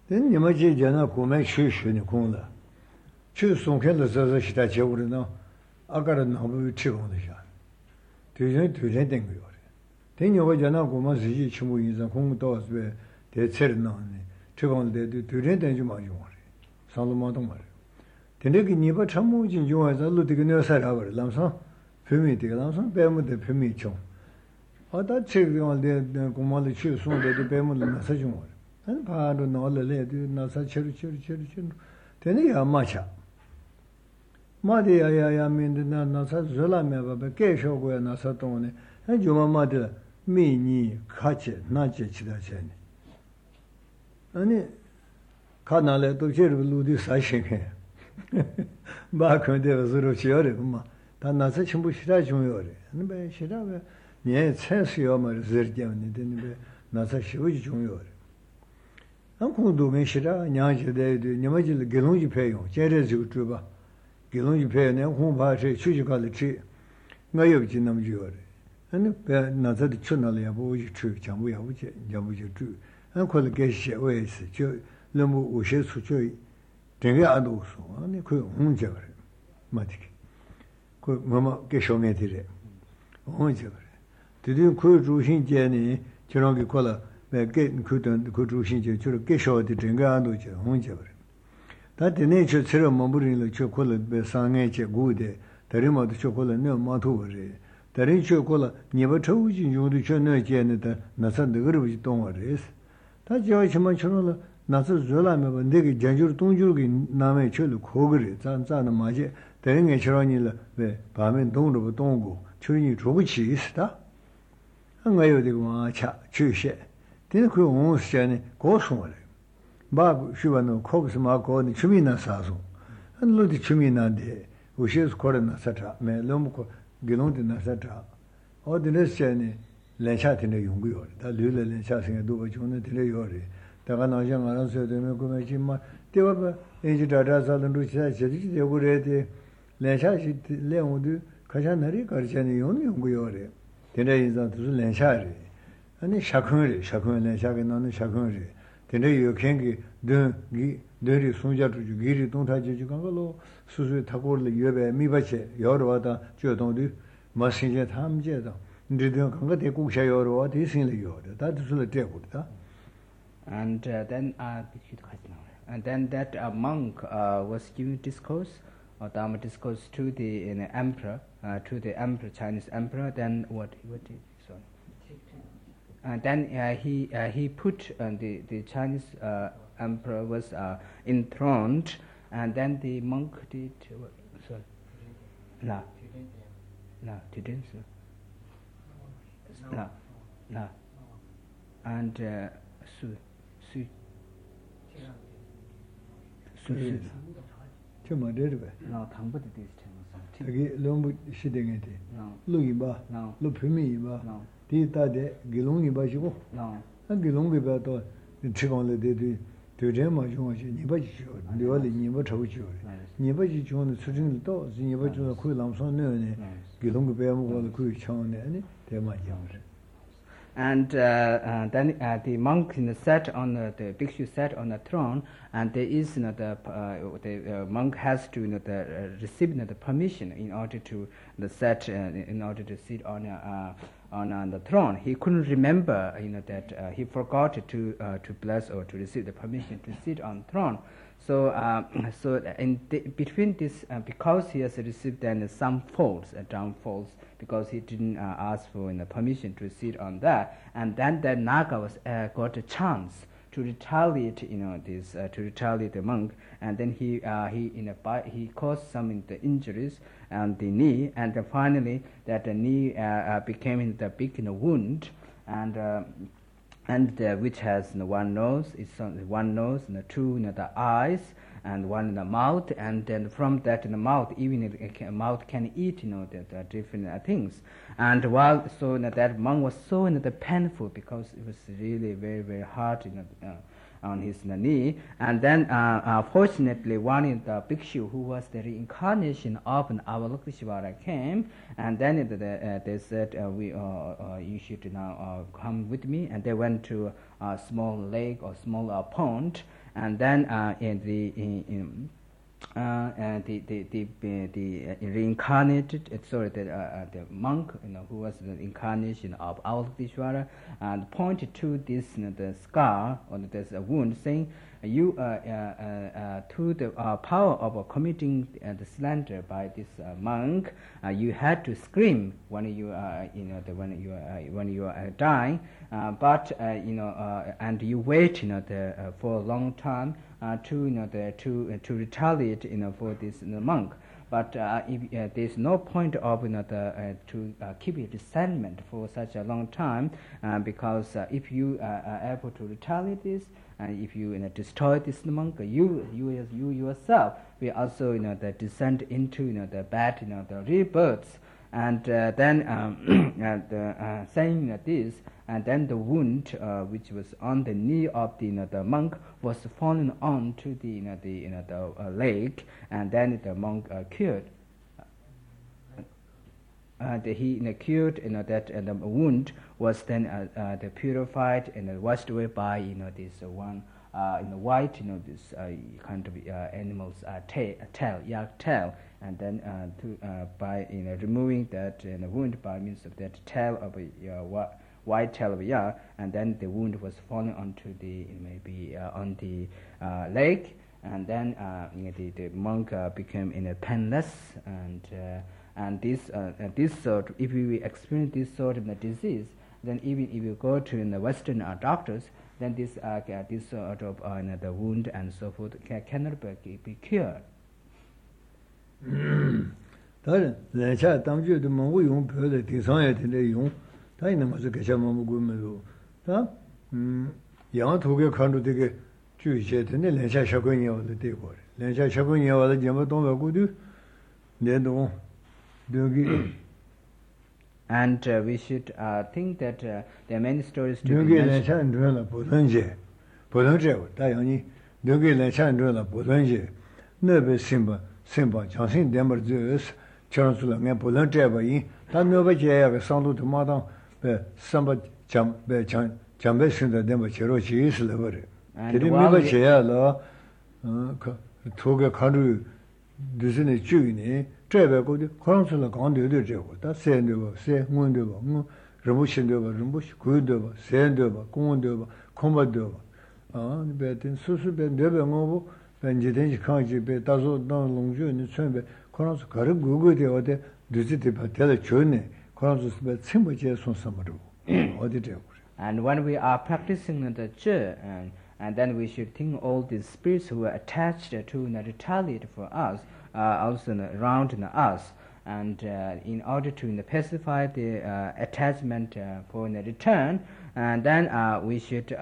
then you might get a common church in the corner. Choose some kind of such that you would know. I got a number of children on the shot. To letting you. Then you were not going to see each in the home doors where they said none. Children, they do to rent and you might want it. Solomon. The nigger never trouble in you as a little nurse our lamson. Permit the lamson, bear with the permission. I thought children on the command choose soon that the bear with the message on. And pardon all the lady, not such a church. Then you are much up. Madi, I mean, the Nasa Zola, but Kesho were Nasatone, and your mother, me, ni, catch it, not judge that chain. And Canale to Jerry Ludi Sashing here. Back when there was Ruchiori, Tanasa Chimbushira Junior, and by Shirava, near Sensio, Zergian, then Nasa Shuji Junior. Uncle Dumishira, Nyaja, the Yamajil Gelunji Payo, Jerez Utuba. Gilonji pay and home party, Chuchicali tree. Mayo Jinam Jury. And another chunali of true, Jamuja true. And call the Gesha ways, Lumu Ushes Suchui, Tenga also, and they could Hunjaver. Matic. Could Mamma Geshometire. Hunjaver. Did you could Rushin Jenny, Chirongi Kola, where getting couldn't could Rushin Gesho, the Tenga Hunjaver. That the nature ceremony the chocolate be sangache good, the rim of the chocolate no maturi. The rich chocolate never told you the channel janitor, Nasan the Gurbish don't worry. That George Machola, Nasa Zolam, and Diggy Janjur Tunjugi, Name Chulu, Kogri, Zanzana Maje, the ring a charonilla, the Pamen Dongo, Dongo, Chuni Troguchi, sta. And I would go cha, chushe. Then could almost Jenny go somewhere. Bob Shivano, Cobbs Marco, and Chumina Sazo, and Ludi Chumina de, which is Corona Satra, me Lomco, Gilontina Satra, or the less journey, Lenchat in a Yungur, that Lula Lenchat in a Duba Juna Teleori, the Ranajan answered the Megumajima, they were aged Razal and Rucha, they would read Lenchat Leon, Kajanari, Karjani, Yungur, the day is not Lenchari, and the Shakuri, Shakun on the Shakuri. You can't do dirty Sunja to Giri, don't touch you, Gangalo, Susu Takor, Yube, Mibache, Yorvata, Jodondi, Massinger Ham Jeda. Did you come to Kusha or what is in the yard? That is the table. And then that monk was giving discourse, or Dharma discourse to the emperor, Chinese emperor. Then what did? Sorry. And then he put the Chinese emperor was enthroned, and then the monk did sorry. No, didn't. No. And Su. Chuma did it. No, Tambut this time. Lombu sitting at it. No. Luiba. No. Lupimi. No. Tita de Gilungi Bajo. No. And Gilungi Bato, the Chigon de Tudema Jones, Nibajo, the only Nibacho. Nibaji John, the Sujin doors, Nibajo, Kulam, Gilungi Bam, the Kuchon, and they might young. And then the monk sat on the bhikshu sat on the throne, and there is the monk has to receive the permission in order to sit on the throne. He couldn't remember that he forgot to bless or to receive the permission to sit on the throne. So between this, because he has received then some faults, downfalls, because he didn't ask for permission to sit on that, and then the Naga was got a chance to retaliate, to retaliate the monk, and then he caused some injuries on the knee, and then finally that the knee became the big wound, and which has one nose, and two the eyes, and one in the mouth, and then from that in the mouth, even the mouth can eat, the different things. And that monk was so painful because it was really very very hard, on his knee. And then, fortunately, one of the bhikshu who was the reincarnation of Avalokiteshvara came, and then they said, you should now come with me. And they went to a small lake or small pond, and then the reincarnated, the monk, who was the incarnation of Avalokiteshvara, pointed to this the scar or this wound, saying, "You to the power of committing the slander by this monk, you had to scream when you when you are dying, but and you wait for a long time to retaliate for this the monk. But if there's no point of to keep your resentment for such a long time, because if you are able to retaliate this, if you destroy this monk, you yourself will also descend into the bad the rebirths." And then saying this, and then the wound which was on the knee of the monk was fallen onto the lake, and then the monk cured. He cured that, and the wound was then purified and washed away by this one white this kind of animal's tail, yak tail, and then by removing that wound by means of that tail of a white tail of a yak, and then the wound was falling onto the on the lake, and then the monk became painless, and this sort, if we experience this sort of disease, then even if you go to the Western doctors, then this sort of the wound and so forth cannot be cured. 다른 내차 당주도 뭐 용 별의 대상에 되는 용 다이는 맞아 개차 뭐 고면도 다 양토게 칸도 되게 주의해 되는 내차 샤군이 와도 되고 내차 샤군이 와도 좀 동하고도 내도 여기. And we should think that there are many stories to be mentioned. 제베고도 코랑슬라 강도도 제고 다 세는데 세 문도 뭐 르무신도 르무시 고도 세는도 공원도 콤바도 베든 수수베 네베 뭐고 벤지든지 강지베 다소 너 롱주니 쳔베 코랑스 가르 고고데 어데 드지데 바텔 좋네 코랑스베 쳔버제 손삼으로 어디 되고. And when we are practicing the Zhi, and then we should think all these spirits who are attached to retaliate for us, also around us, and in order to pacify the attachment for the return, and then we should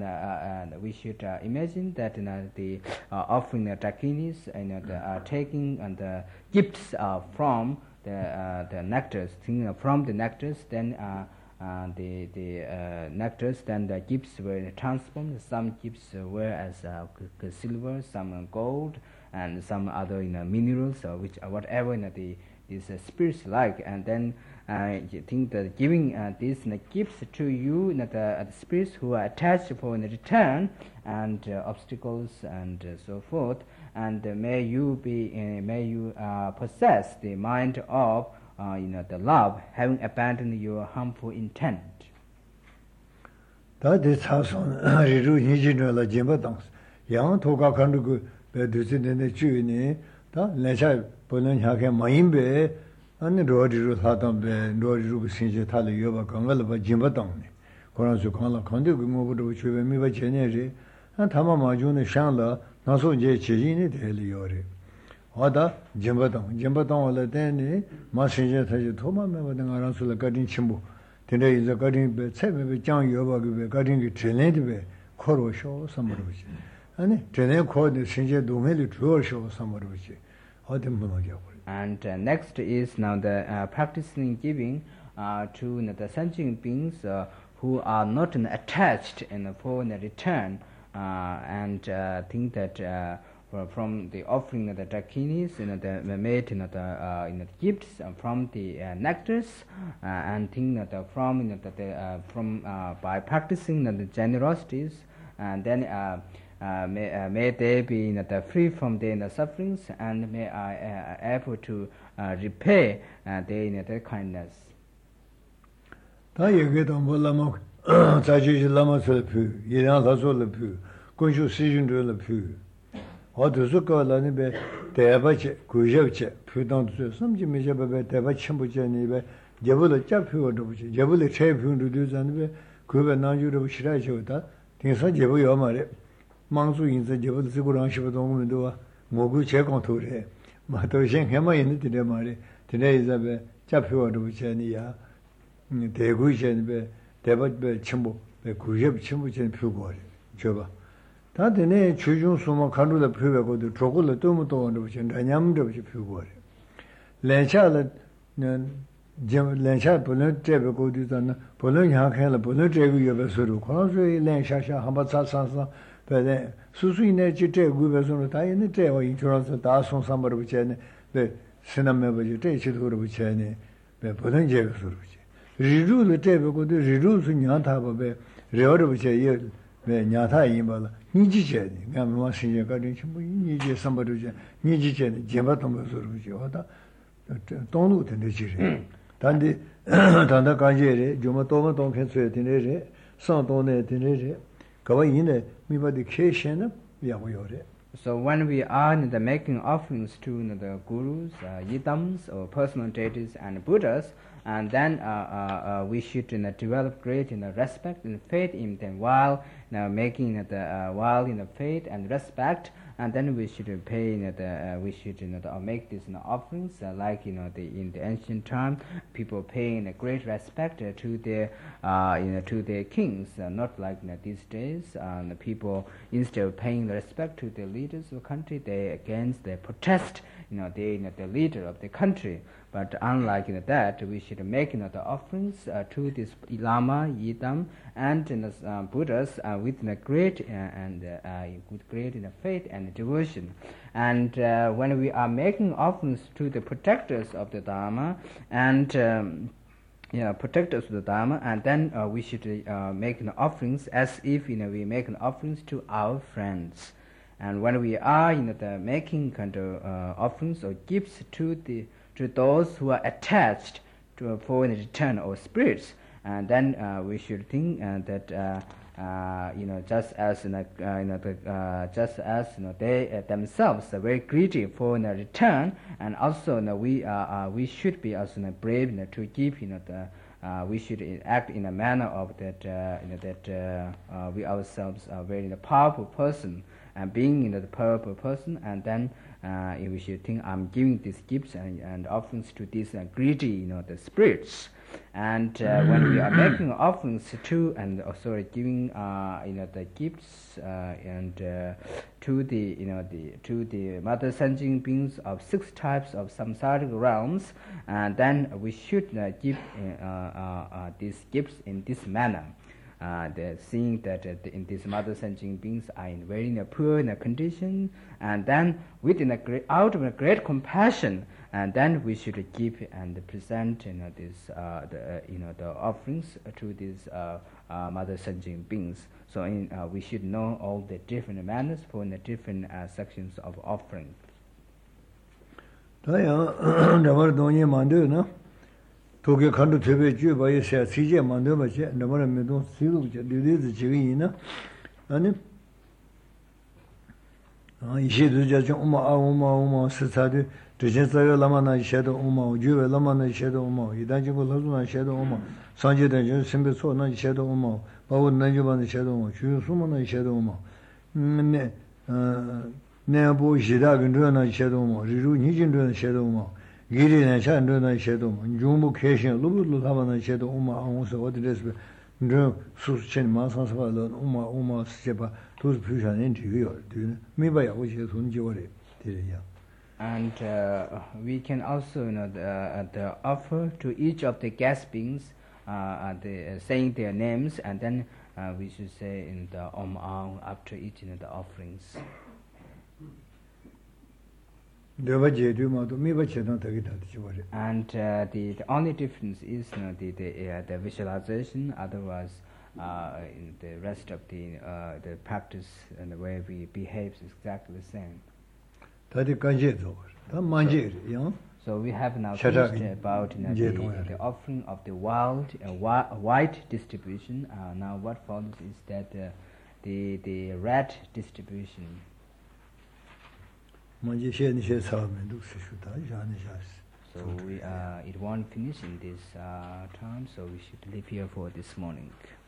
imagine that the offering the dakinis and taking the gifts from the nectars, from the nectars, then the nectars, then the gifts were transformed. Some gifts were as silver, some gold, and some other minerals, which whatever these spirits like. And then you think that giving these gifts to you, the spirits who are attached for the return and obstacles and so forth, and may you possess the mind of the love, having abandoned your harmful intent. That is how Riru Nijinola Jimbadons. Young Toga Kanduku, Bedusin in the Chuni, Lecha Polan Hake Maimbe, and the Rodiru Hatam, Rodiru Sinja Tali Yoba Kangalaba Jimbadoni. Koranzukala Kandu, which we may be Cheneri, and Tamamajun Shanla, Naso J. Chini, the Heliori. Oda Jimbadon wala deni ma shinje taji thoma me wa denga ransula gadin chimbu tende is a gadin be tsebe be jang yoba be gadin ki trene be khoro sho samaruchi ani trene kho de shinje domeli tuo sho samaruchi odem bono gya. And next is now the practicing giving to the sentient beings who are not attached for the return. and think that from the offering of the dakinis, the made the gifts from the nectars, and think that from by practicing the generosities, and then may they be free from their sufferings, and may I able to repay their kindness. 다 얘기도 몰라면 자주지 라마서 푸 이랑 가서를 푸 군주 시즌들을 푸 어디서 거라니 배 대바체 구접체 푸던도 섬지 미접배 대바 첨부전이배 제불을 잡히고도 보지 제불을 체표도 되잖아 배 그배 나주로 싫어져다 대서 제부요 말에 망수 인자 제불 쓰고랑 싶어도 뭐고 제공토래 마도 생해만 있는데 말에 드네이자배 잡히고도 보지니야 대구이전에 대바배 첨부 구접 첨부전 표고래 줘봐 다들 주중 수만 간루다 표고도 저걸로 너무 또는 보지 냐냠도 보지 표고래 렌차는 렌차 보는 제베고도잖아 보는 향해라 보는 제고 옆에서로 그러서이 렌샤샤 한번 차차서 배에 수수이네 지제 구배서로 다 있는 제와 인처럼서 다 송삼으로 보지네 네 신남매 보지 제치도로 보지네 배 보는 제고서로 리루를 때보고도 리루스 냐타바베 레어르브체 예 냐타이마라 니지제니 가면 신경 가진 뭐 니지 삼바르제 니지제 제바통서르지 하다 돈도 되지 단디 단다 간제레 좀 도마 동편서에 되네레 상돈에 되네레 거기네 미바디 케이션은 야고요레. So when we are making offerings to the gurus, yidams, or personal deities and Buddhas, and then we should develop great respect and faith in them while making while faith and respect, and then we should pay we should make these offerings like in the ancient time people paying great respect to their to their kings, not like these days the people instead of paying the respect to the leaders of the country they protest the leader of the country. But unlike that, we should make the offerings to this Lama, Yidam, and Buddhas with great with great faith and devotion. And when we are making offerings to the protectors of the Dharma and protectors of the Dharma, and then we should make offerings as if we make offerings to our friends. And when we are making kind of offerings or gifts to those who are attached to for return or spirits, and then we should think that just as just as they themselves are very greedy for return, and also we should be also brave to give we should act in a manner of that we ourselves are very powerful person, and being the powerful person, and then we should think I'm giving these gifts and offerings to these greedy the spirits. And when we are making offerings to and giving the gifts and to the mother sentient beings of 6 types of samsaric realms, and then we should give these gifts in this manner. Seeing that in these mother sentient beings are in very poor condition, and then out of a great compassion, and then we should give and present the offerings to these mother sentient beings. So we should know all the different manners for the different sections of offering. 도게 간도 대배 주바에서 시제 만들어 봐지 너무나 매도 시도죠 리리즈 지기이나 아니 이제도 저좀 오마 스타드 드제서요 라마나 이셔도 오마 주베 라마나 이셔도 오마 이단지고 라주나 이셔도 오마 산제된 저 심베소나 이셔도 오마 바wo 난주반의 이셔도 오마 주수모나 이셔도 오마 네 내보 시다근도나 이셔도 오마 리루 니진도나 이셔도 오마 기리는 찬도나 셔도 중부 계신 루루루 하바나 셔도 오마 아무서 어디에서 저 수수chen 마산서발로 오마 스제바 도스 표현은 되요. 미바야 오시에 손지월에 되야. And we can also offer to each of the guest beings saying their names, and then we should say in the Om Aung after eating the offerings. And the only difference is the visualization. Otherwise, in the rest of the practice and the way we behave is exactly the same. So we have now finished about the offering of the white distribution. Now what follows is that the red distribution. So it won't finish in this time, so we should leave here for this morning.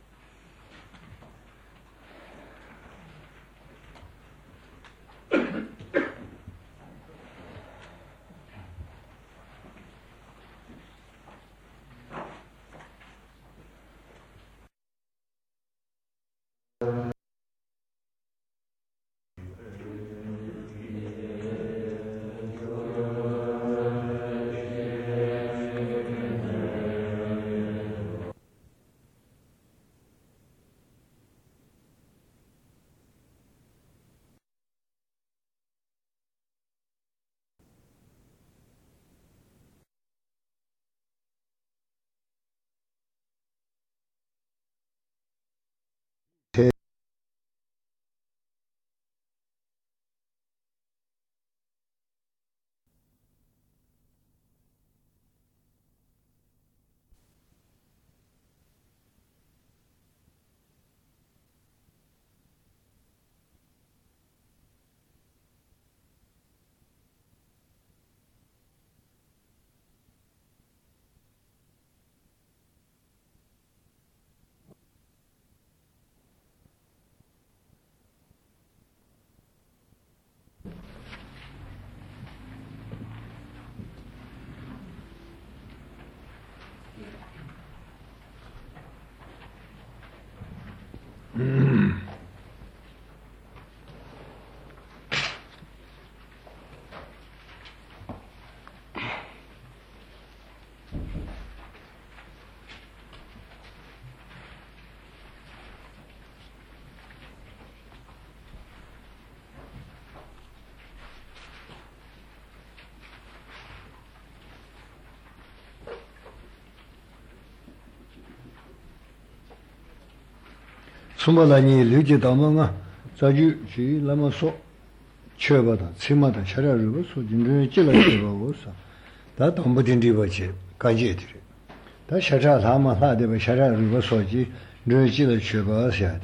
Sumbalani Luji Damanga, Zaju, she Lamaso, Chebata, Simata, Shara River, so Jindri Chila, that Ombudin Divache, Kajetri. That Shara Lama had a Shara River Soji, Drechila Cheba Siadi.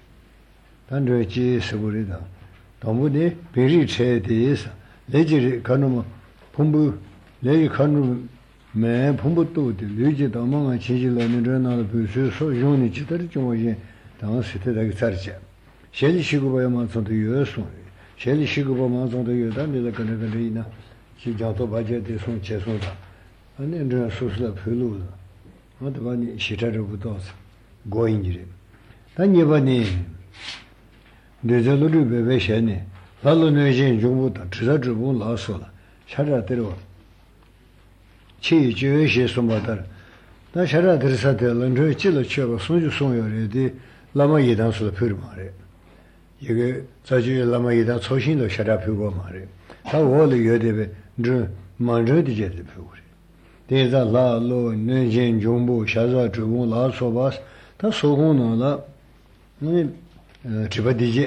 Tandrechi Segurida. Tombudi, Piri Che Dis, Legiri Kanuma, Pumbu, Legi Kanu, Me Pumbutu, Luji Damanga, Chijila, Nirana, Pusu, so Juni Chitari. Shelly Shiguba Manson to you, Shelly Shiguba Manson to you, then the Canadina, she jumped up budget this one Chesoda, and then there are social Pulu. Not one she tried with us, going in. Then you name. There's a little bit shiny. Follow Nation Jumuta, Trizabun La Sola, Shara Tero. Chi Jewish Somata. That Shara Trisatel and Chilla Cheva, soon you saw already. Lama Yidan Sula Purmare. You Saji Lama Yidan Soshin the Sharapu Mare. How all the Yodebe drew Mandre de Jet Puri. There's a La Lo, Nejin Jumbo, Shaza, Tribun, La Sobas, that's so on La Tribadije.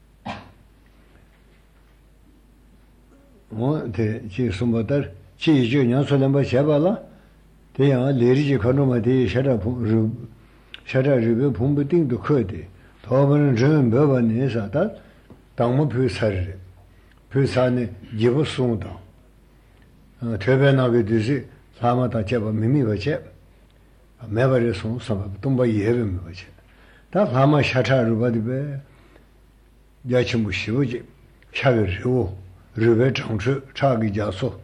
The Chisumbatar, Chi Junior Solamba Shabala, they are Lady Konoma de Sharapu. Shara River Pumbuting to Kurdi, Tovan Jun Bevan that Damu Pusari, Pusani, Jibusunda, Trebena Viduzi, Samata Cheba Mimi Vache, a Mevarisum, some Tumba Yevim Vache. That Hama Shata Rubadibe, Yachimushiuji, Chaviru, River Changchu, Chagi Jaso.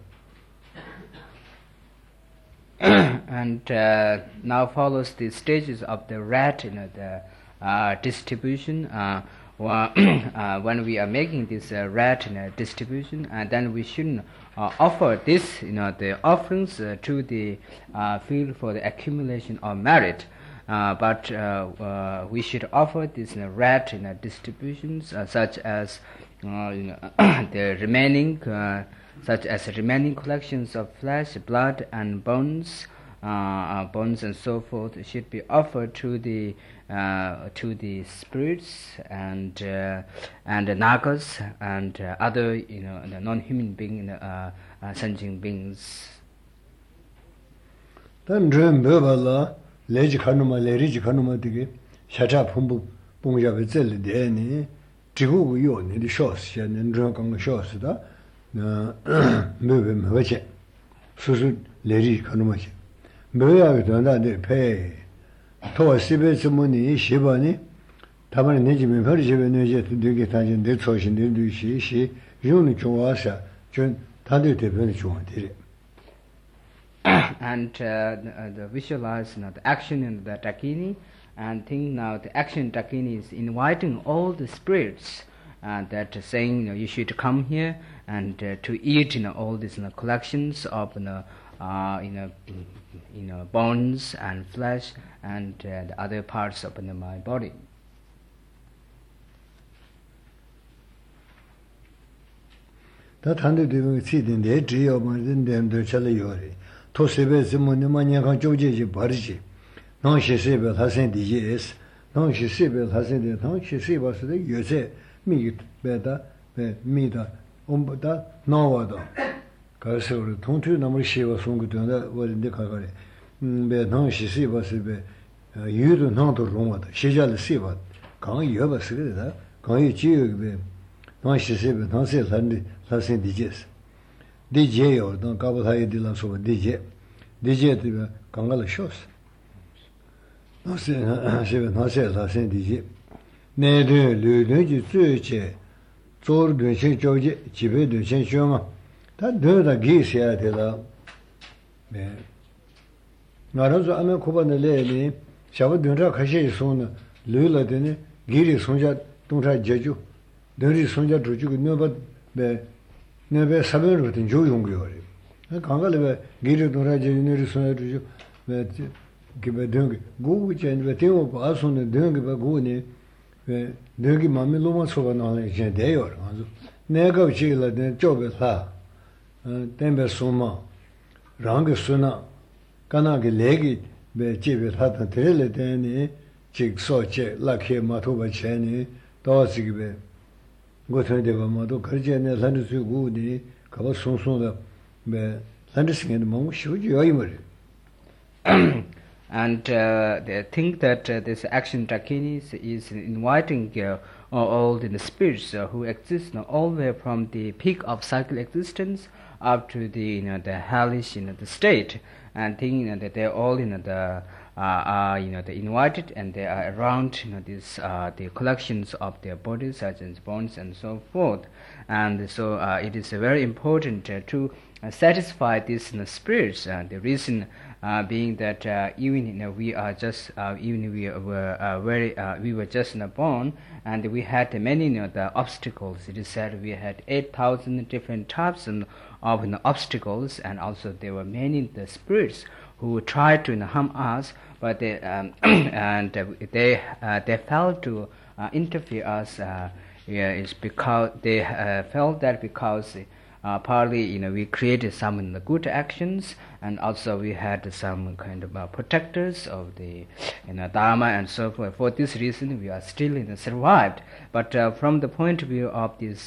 And now follows the stages of the rat, the distribution. When we are making this rat distribution, and then we shouldn't offer this, the offerings to the field for the accumulation of merit. but we should offer these rat distributions such as the remaining collections of flesh, blood, and bones and so forth should be offered to the spirits and the nagas and other the non-human being sentient beings. Then dream bebala leji kanuma leriji kanuma dige shacha pumbu pungja bezel de ni jigu yo ni de shos xian nen zhe gang shos da na mebe meche su leri kanuma xi meya de na de pe to sibe zmuni shibani taban neji me per jibe neje de tanjin de choshin de du shi yuni chwasa chen tade de ben chwa de. And the visualize the action in the Dakini, and think now the action in Dakini is inviting all the spirits that are saying you should come here and to eat all these collections of bones and flesh and the other parts of my body. That handed to see in the edge of my then chale to sebe zimuni manyaka jojeji barji non shi sebe hasen dijes non shi sebe hasen de non shi sebe se yose mi beda be mi da omboda nawada kaso tontu namri shiwa songu dona wolinde kagare be non shi sebe se be yudu non to roma da shejal sebe kan yoba se da kan yi ji be non shi sebe non se lande hasen dijes DJ yo don kabo thai dilan so DJ de kangala shos no se la sen DJ ne de le ji zui che zor de che joje jibe de chen shoma ta de da gi sia de la me 나라서 아메 코바네레니 샤브 dunra khashi son le la de ne giri sonja tonja jeju deri sonja juju no ba be 네베 사베르 같은 조용교리 강가레 기르 도라제 유니르 소르주 베 기베 덩 고우젠 베 테오 바손네 덩 베 고네 베 덩이 마메 로마 소가 나네 제 데요 아주 내가 지라 데 쪼베 사 템베 소마 랑게 소나 까나게 레기 베 제베 하다 데레레 데니 직소체 라케 마토바 체니 도시기베 And they think that this action Dakini is inviting all the spirits who exist all the way from the peak of cycle existence up to the the hellish the state, and thinking that they're all they invited and they are around these the collections of their bodies such as bones and so forth. And so it is very important to satisfy these spirits. The reason being that even we are just even we were just born, and we had many the obstacles. It is said we had 8,000 different types of obstacles, and also there were many the spirits who tried to harm us, but they and they failed to interfere us. It's because they felt that because partly we created some good actions, and also we had some kind of protectors of the Dharma and so forth. For this reason, we are still survived. But from the point of view of this